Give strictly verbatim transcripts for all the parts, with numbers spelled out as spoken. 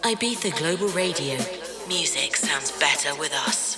Ibiza Global Radio. Music sounds better with us.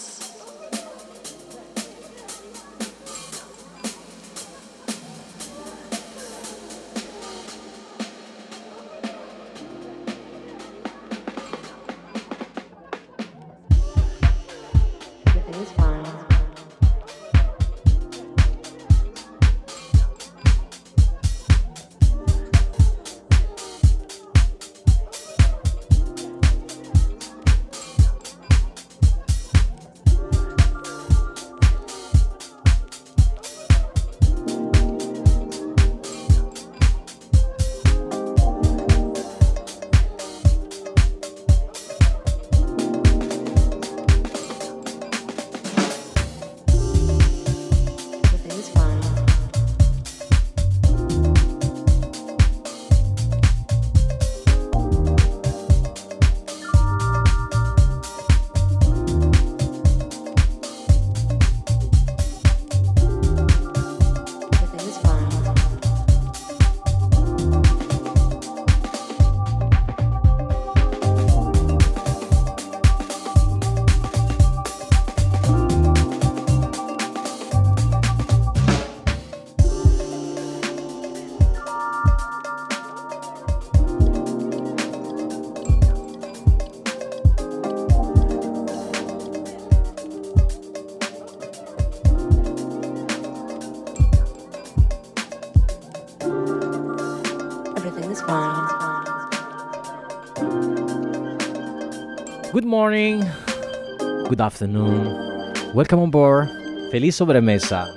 Good morning, good afternoon, welcome on board, feliz sobremesa.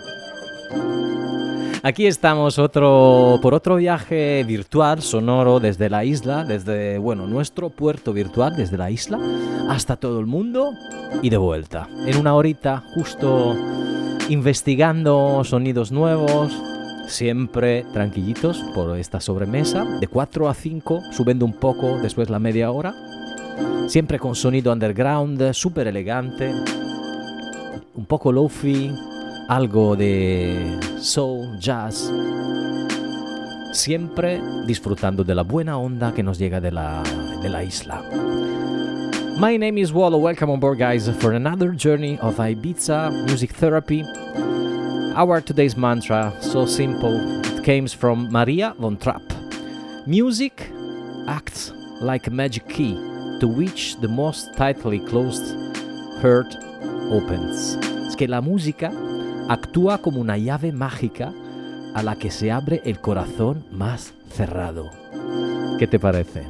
Aquí estamos otro, por otro viaje virtual, sonoro, desde la isla, desde, bueno, nuestro puerto virtual, desde la isla, hasta todo el mundo y de vuelta. En una horita, justo investigando sonidos nuevos, siempre tranquilitos por esta sobremesa, de cuatro a cinco, subiendo un poco después la media hora. Siempre con sonido underground, súper elegante, un poco lofi, algo de soul, jazz. Siempre disfrutando de la buena onda que nos llega de la, de la isla. My name is Wallo. Welcome on board, guys, for another journey of Ibiza music therapy. Our today's mantra, so simple, it comes from Maria von Trapp. Music acts like a magic key to which the most tightly closed heart opens. Es que la música actúa como una llave mágica a la que se abre el corazón más cerrado. ¿Qué te parece?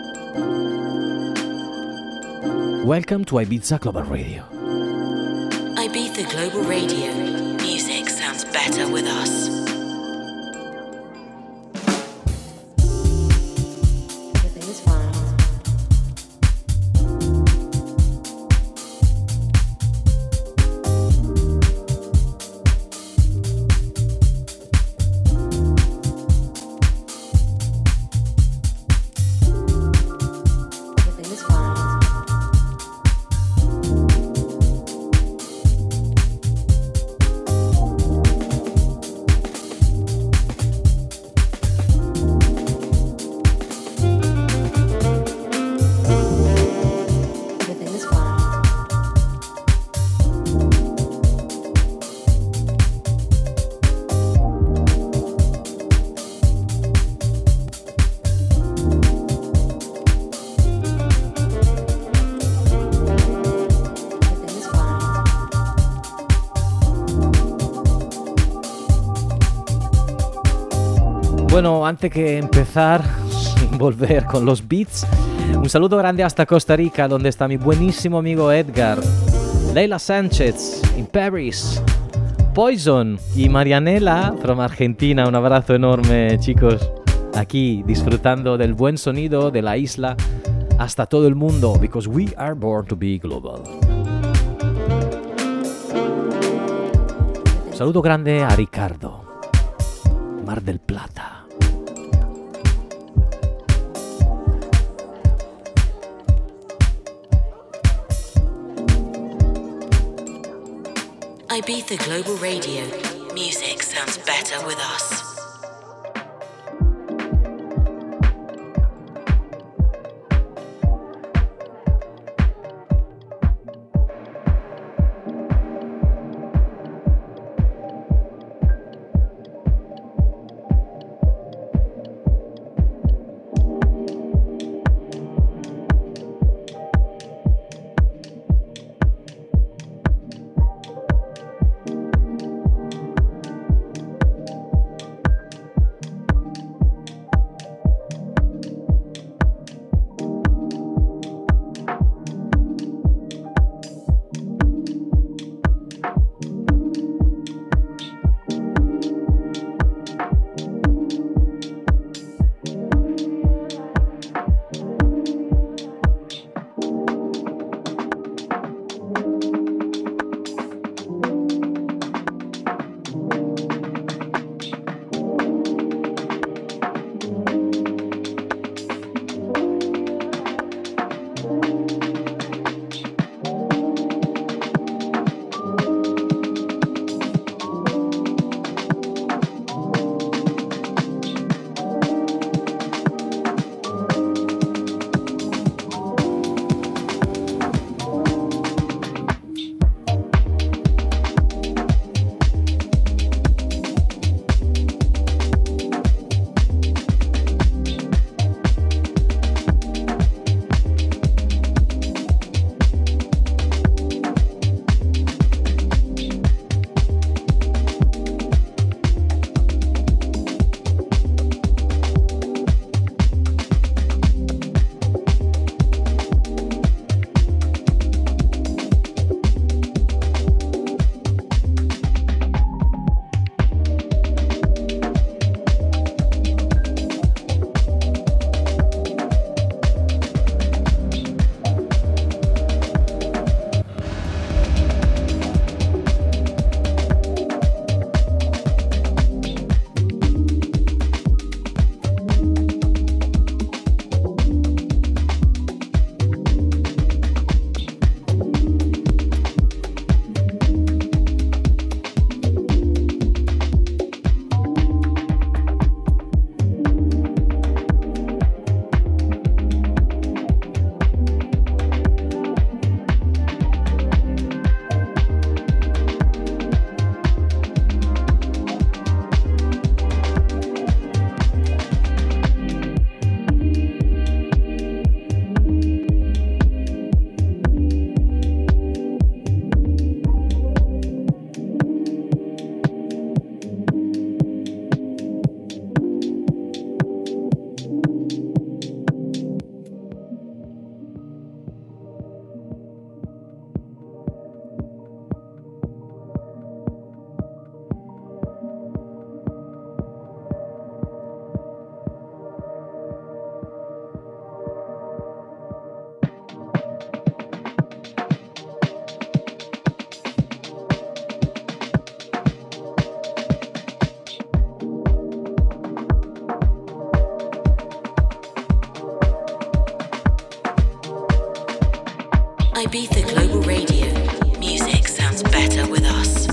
Welcome to Ibiza Global Radio. Ibiza Global Radio. Music sounds better with us. Bueno, antes que empezar, volver con los beats, un saludo grande hasta Costa Rica, donde está mi buenísimo amigo Edgar, Leila Sánchez, in Paris, Poison y Marianela from Argentina. Un abrazo enorme, chicos, aquí disfrutando del buen sonido de la isla hasta todo el mundo, because we are born to be global. Un saludo grande a Ricardo, Mar del Plata. Ibiza Global Radio. Music sounds better with us. Ibiza Global Radio. Music sounds better with us.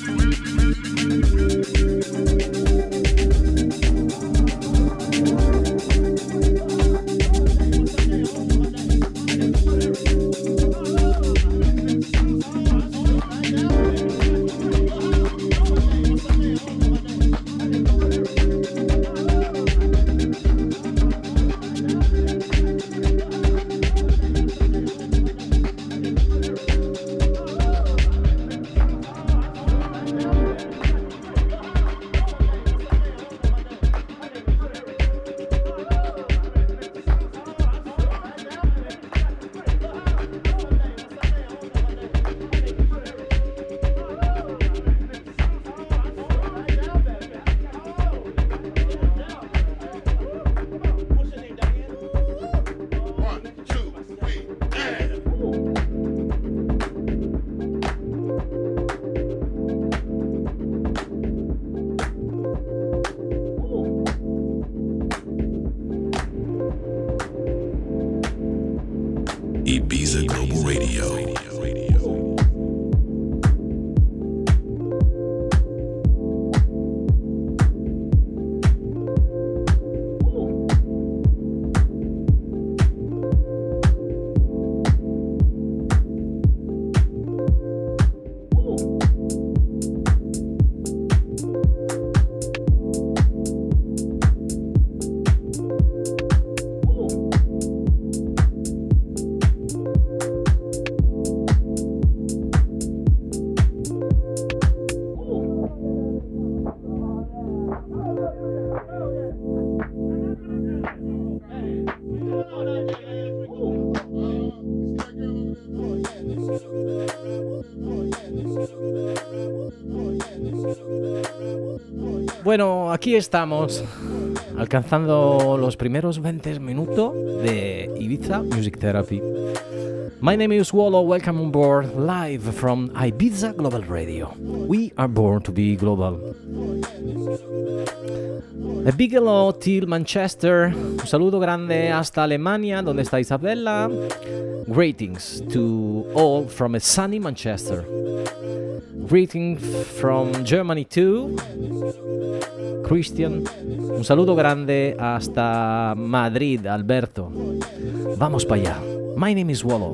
Ibiza Global Radio. Bueno, aquí estamos, alcanzando los primeros veinte minutos de Ibiza Music Therapy. My name is Wallo, welcome on board, live from Ibiza Global Radio. We are born to be global. A big hello till Manchester, un saludo grande hasta Alemania, donde está Isabella. Greetings to all from a sunny Manchester. Greetings from Germany too. Christian, un saludo grande hasta Madrid, Alberto. Vamos para allá. My name is Wallo.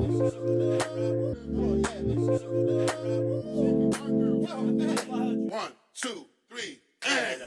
One, two, three, and...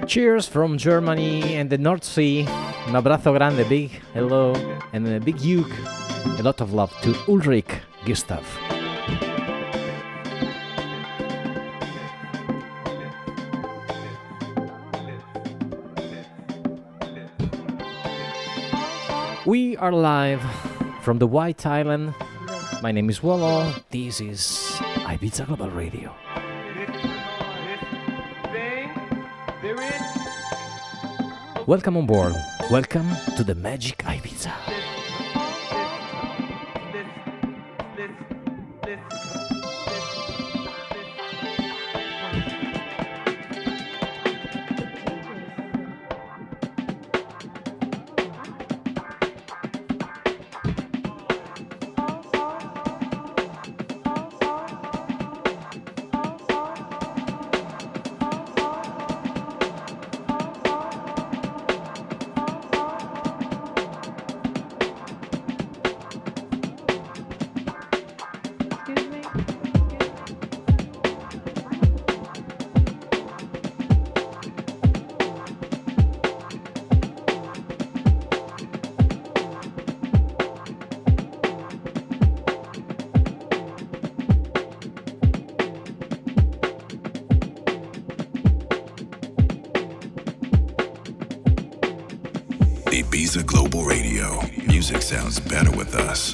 Cheers from Germany and the North Sea. Un abrazo grande, big hello, and a big hug. A lot of love to Ulrich Gustav. We are live from the White Island. My name is Wallo. This is Ibiza Global Radio. Welcome on board. Welcome to the Magic Ibiza. Ibiza Global Radio. Music sounds better with us.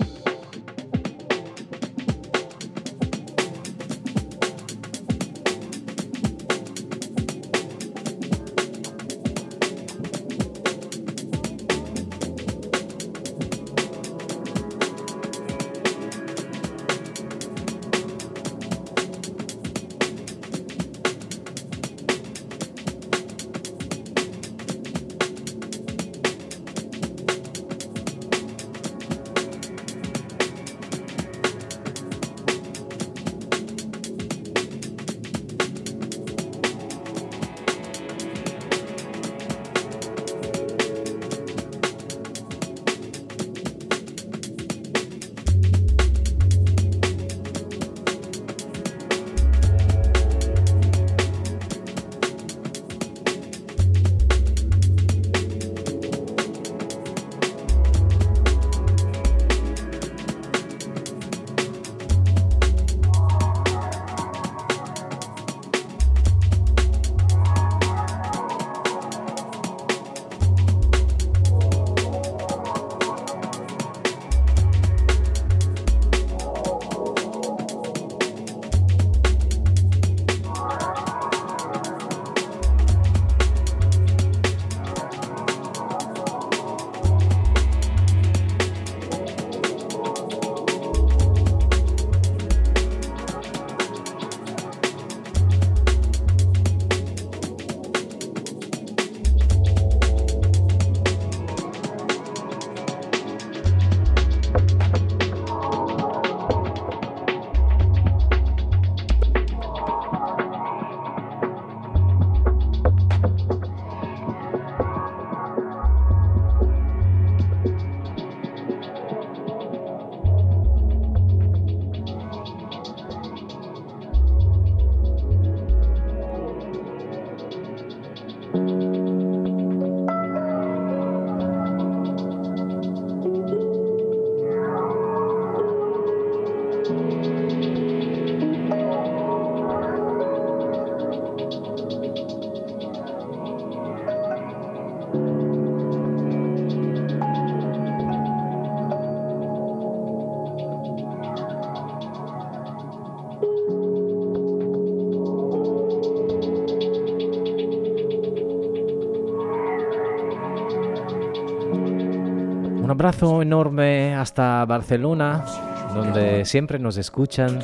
Un abrazo enorme hasta Barcelona, donde siempre nos escuchan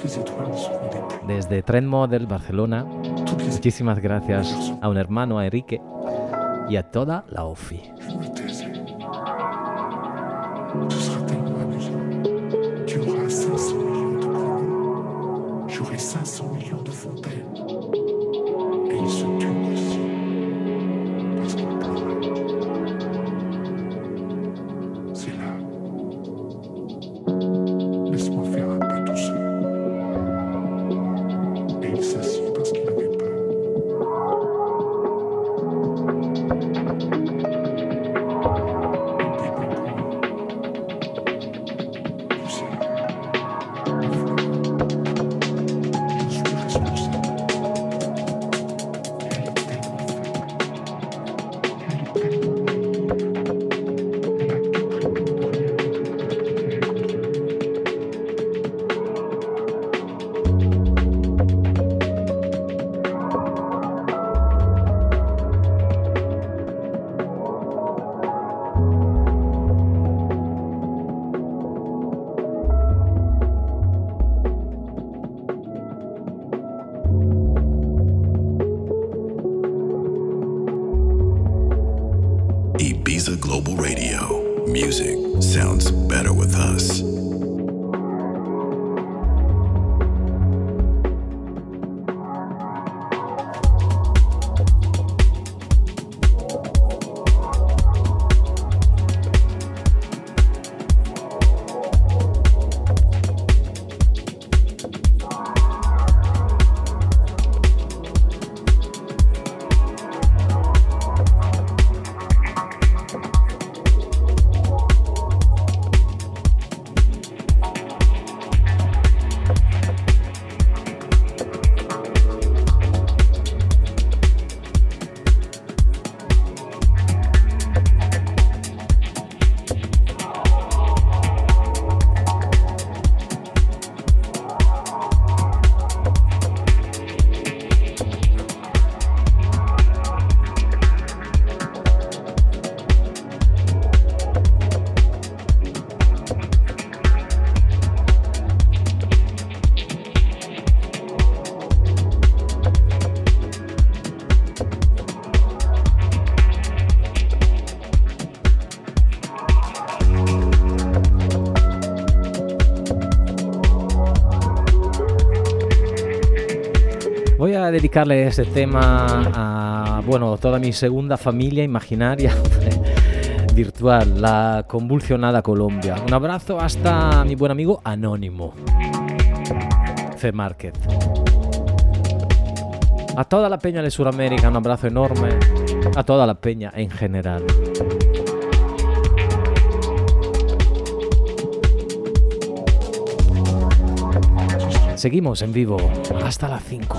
desde Trend Model Barcelona. Muchísimas gracias a un hermano, a Enrique, y a toda la O F I. Voy a dedicarle este tema a, bueno, toda mi segunda familia imaginaria virtual, la convulsionada Colombia. Un abrazo hasta mi buen amigo Anónimo, C Market. A toda la peña de Sudamérica, un abrazo enorme. A toda la peña en general. Seguimos en vivo hasta las cinco.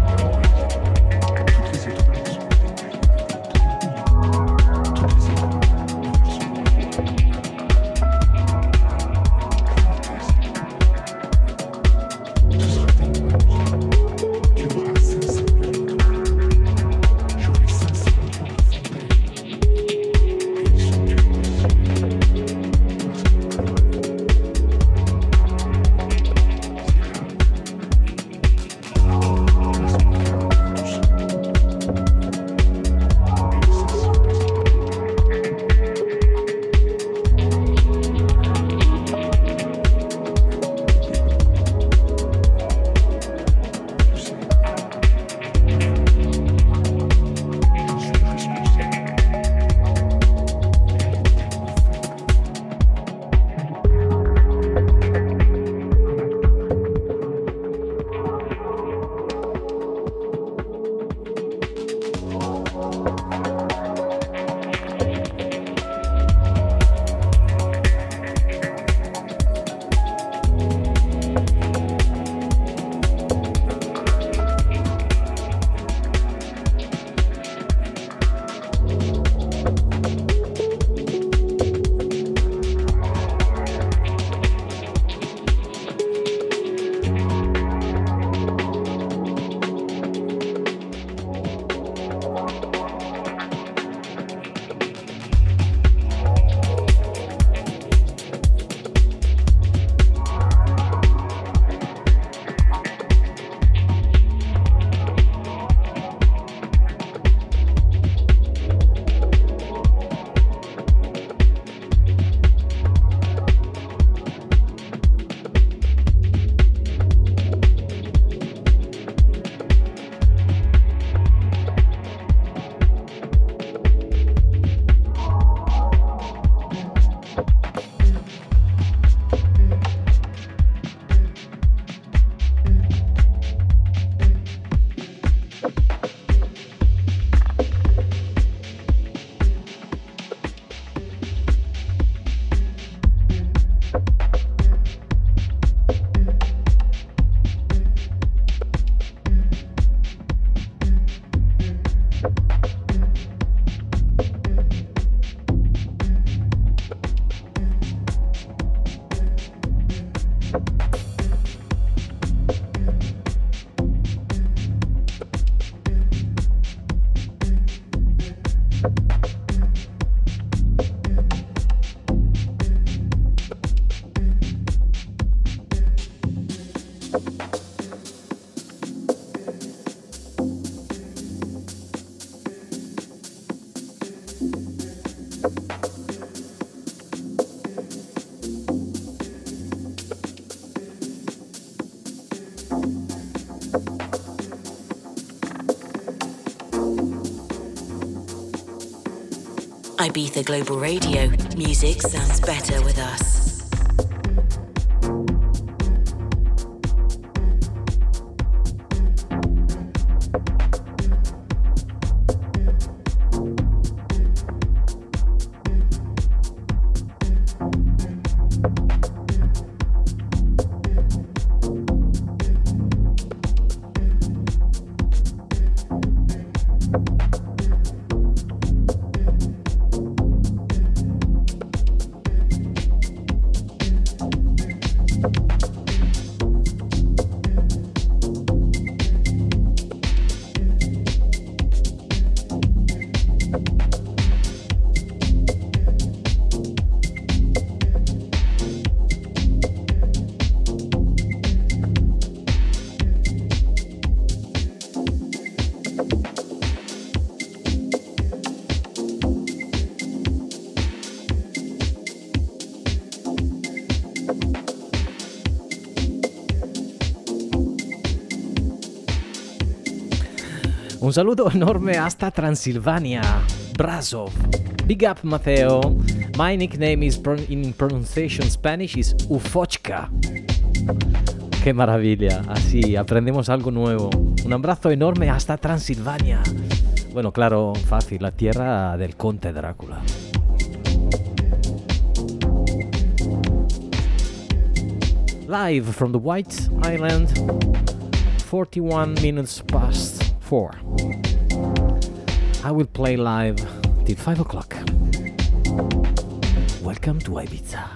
Ibiza Global Radio. Music sounds better with us. Un saluto enorme hasta Transilvania, Brasov. Big up, Matteo. My nickname is pro- in pronunciation Spanish is Ufochka. Qué maravilla, así aprendemos algo nuevo. Un abrazo enorme hasta Transilvania. Bueno, claro, fácil, la tierra del conde Drácula. Live from the White Island, forty-one minutes past four. I will play live till five o'clock. Welcome to Ibiza.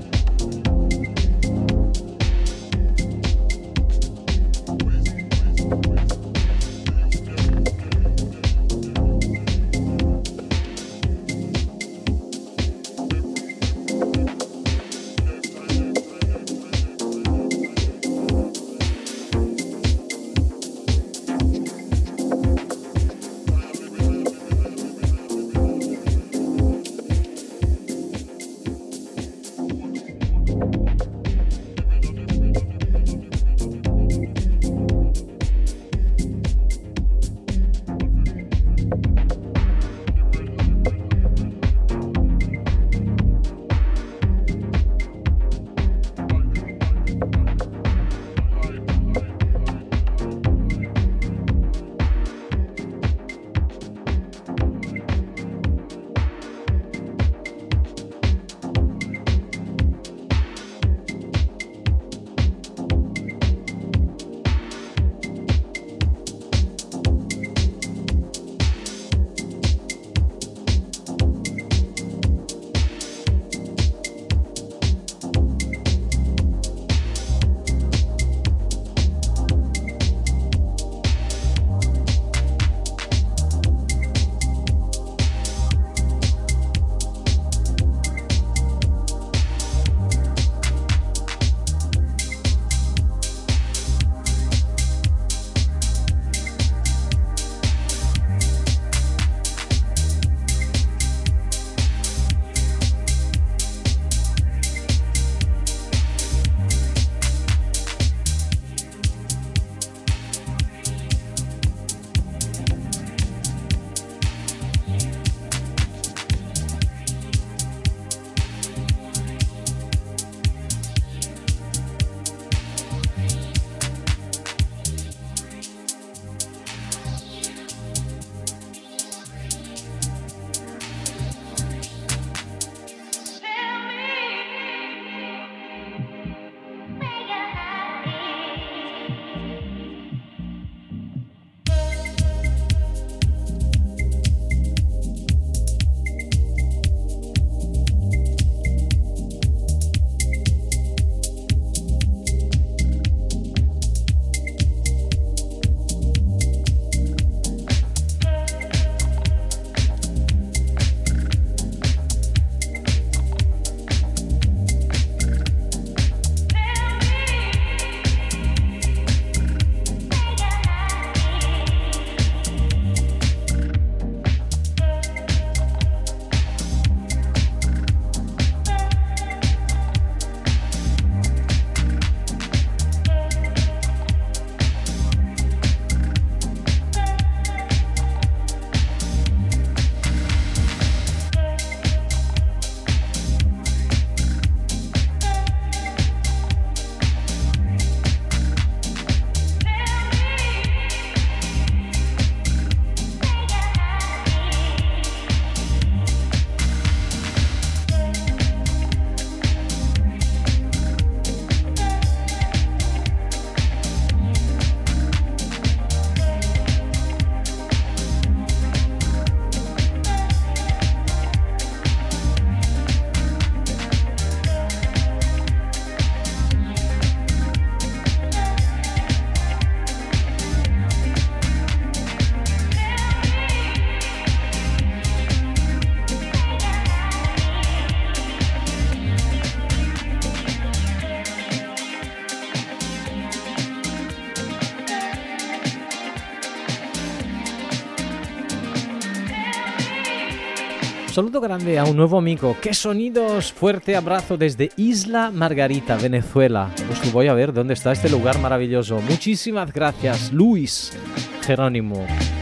Saludo grande a un nuevo amigo. ¡Qué sonidos! Fuerte abrazo desde Isla Margarita, Venezuela. Pues voy a ver dónde está este lugar maravilloso. Muchísimas gracias, Luis Jerónimo.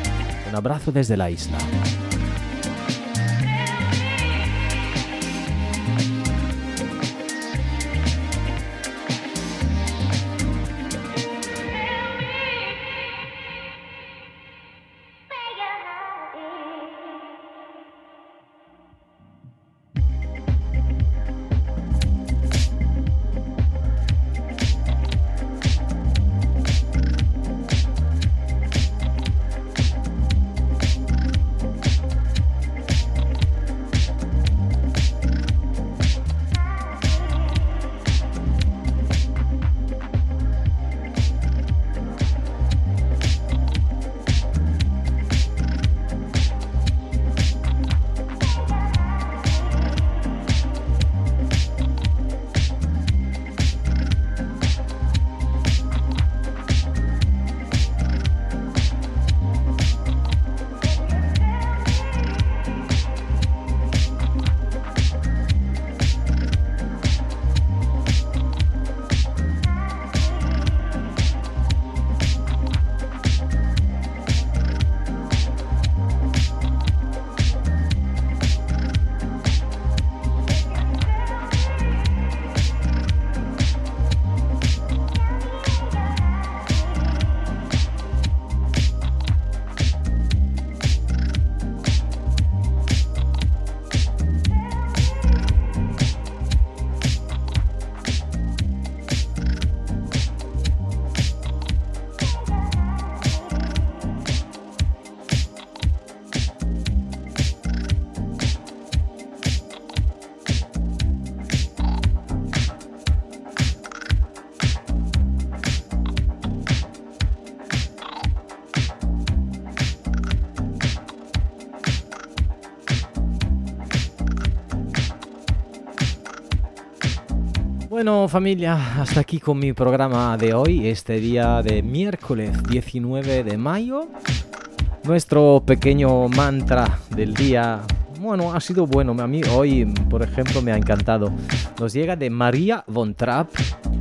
Un abrazo desde la isla. Bueno, familia, hasta aquí con mi programa de hoy, este día de miércoles diecinueve de mayo. Nuestro pequeño mantra del día, bueno, ha sido bueno. A mí hoy, por ejemplo, me ha encantado. Nos llega de Maria von Trapp.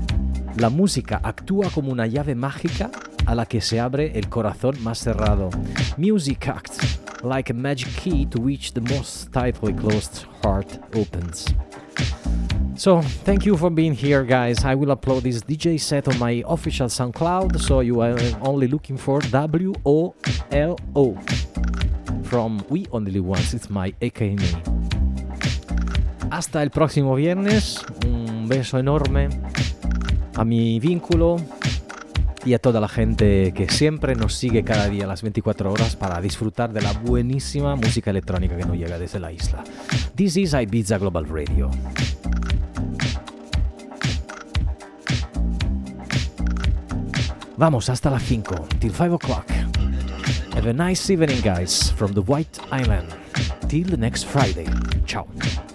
La música actúa como una llave mágica a la que se abre el corazón más cerrado. Music acts like a magic key to which the most tightly closed heart opens. So, thank you for being here, guys. I will upload this D J set on my official SoundCloud, so you are only looking for W O L O from We Only Live Once. It's my A K A. Hasta el próximo viernes. Un beso enorme a mi vínculo y a toda la gente que siempre nos sigue cada día a las veinticuatro horas para disfrutar de la buenísima música electrónica que nos llega desde la isla. This is Ibiza Global Radio. Vamos hasta las cinco, till five o'clock. Have a nice evening, guys, from the White Island. Till the next Friday. Ciao.